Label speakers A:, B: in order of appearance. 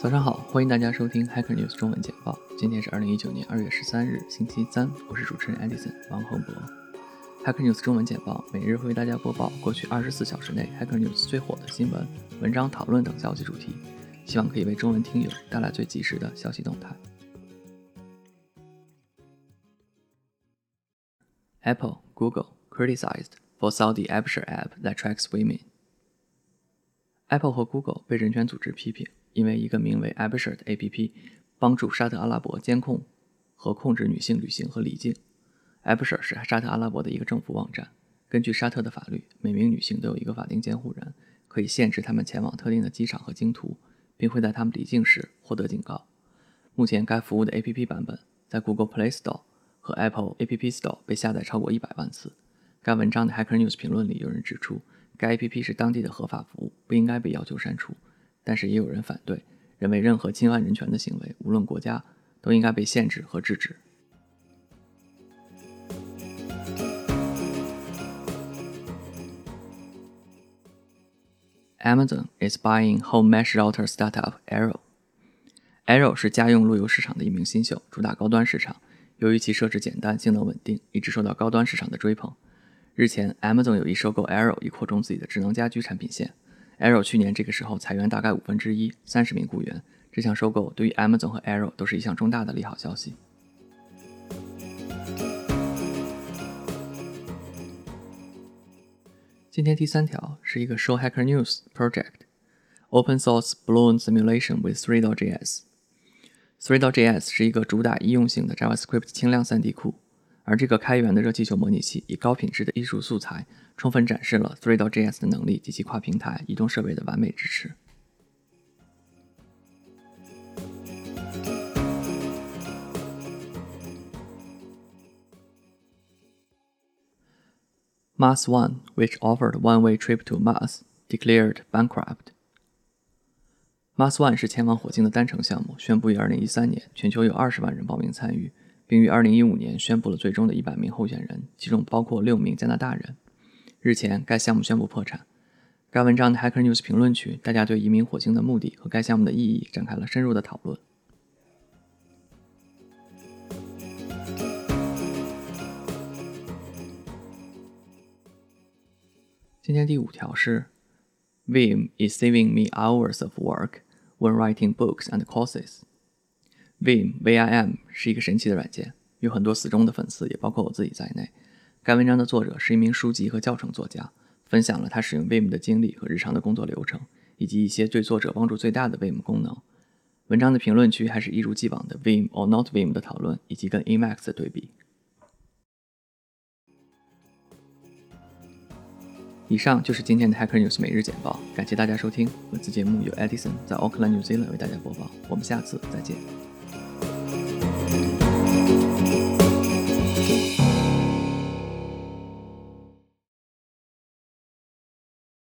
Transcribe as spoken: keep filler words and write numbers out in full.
A: 早上好，欢迎大家收听 Hacker News 中文简报。今天是二零一九年二月十三日，星期三，我是主持人 Edison 王宏博。Hacker News 中文简报每日会为大家播报过去二十四小时内 Hacker News 最火的新闻、文章讨论等消息主题，希望可以为中文听友带来最及时的消息动态。Apple, Google criticized for Saudi Abshir app that tracks women.Apple 和 Google 被人权组织批评，因为一个名为 Abshir 的 A P P 帮助沙特阿拉伯监控和控制女性旅行和离境。Abshir 是沙特阿拉伯的一个政府网站，根据沙特的法律，每名女性都有一个法定监护人，可以限制她们前往特定的机场和经途，并会在她们离境时获得警告。目前该服务的 A P P 版本在 Google Play Store 和 Apple App Store 被下载超过一百万次。该文章的 Hacker News 评论里有人指出，该 A P P 是当地的合法服务，不应该被要求删除，但是也有人反对，认为任何侵犯人权的行为，无论国家，都应该被限制和制止。Amazon is buying home mesh router startup Arrow。Arrow 是家用路由市场的一名新秀，主打高端市场，由于其设置简单、性能稳定，一直受到高端市场的追捧。日前 Amazon 有意收购 Arrow 以扩充自己的智能家居产品线。 Arrow 去年这个时候裁员大概五分之一，三十名雇员。这项收购对于 Amazon 和 Arrow 都是一项重大的利好消息。今天第三条是一个 Show Hacker News Project Open Source Balloon Simulation with three dot J S。three dot J S 是一个主打易用性的 JavaScript 轻量 三 D 库，而这个开源的热气球模拟器以高品质的艺术素材，充分展示了 three dot J S 的能力及其跨平台移动设备的完美支持。Mars One, which offered one-way trip to Mars, declared bankrupt. Mars One 是前往火星的单程项目，宣布于二零一三年全球有二十万人报名参与，并于二零一五年宣布了最终的一百名候选人，其中包括六名加拿大人。日前，该项目宣布破产。该文章的 Hacker News 评论区，大家对移民火星的目的和该项目的意义展开了深入的讨论。今天第五条是 Vim is saving me hours of work when writing books and courses. Vim V I M 是一个神奇的软件，有很多死忠的粉丝，也包括我自己在内。该文章的作者是一名书籍和教程作家，分享了他使用 Vim 的经历和日常的工作流程，以及一些对作者帮助最大的 Vim 功能。文章的评论区还是一如既往的 Vim or not Vim 的讨论，以及跟 Emacs 的对比。以上就是今天的 Hacker News 每日简报，感谢大家收听。本次节目由 Edison 在 Auckland New Zealand 为大家播报，我们下次再见。